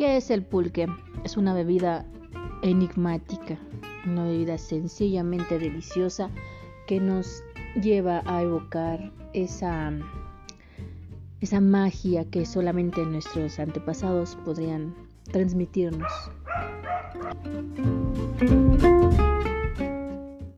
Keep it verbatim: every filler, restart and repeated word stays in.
¿Qué es el pulque? Es una bebida enigmática, una bebida sencillamente deliciosa que nos lleva a evocar esa, esa magia que solamente nuestros antepasados podrían transmitirnos.